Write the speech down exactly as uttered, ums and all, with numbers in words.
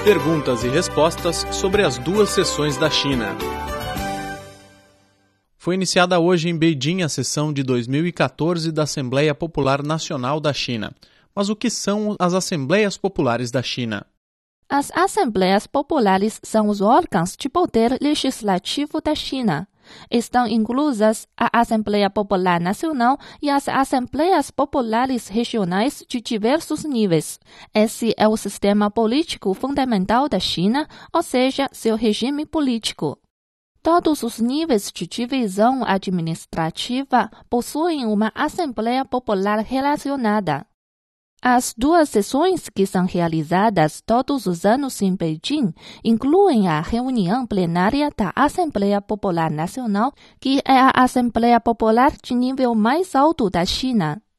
Perguntas e respostas sobre as duas sessões da China. Foi iniciada hoje em Beijing a sessão de dois mil e quatorze da Assembleia Popular Nacional da China. Mas o que são as Assembleias Populares da China? As Assembleias Populares são os órgãos de poder legislativo da China. Estão inclusas a Assembleia Popular Nacional e as Assembleias Populares Regionais de diversos níveis. Esse é o sistema político fundamental da China, ou seja, seu regime político. Todos os níveis de divisão administrativa possuem uma Assembleia Popular relacionada. As duas sessões que são realizadas todos os anos em Beijing incluem a reunião plenária da Assembleia Popular Nacional, que é a Assembleia Popular de nível mais alto da China.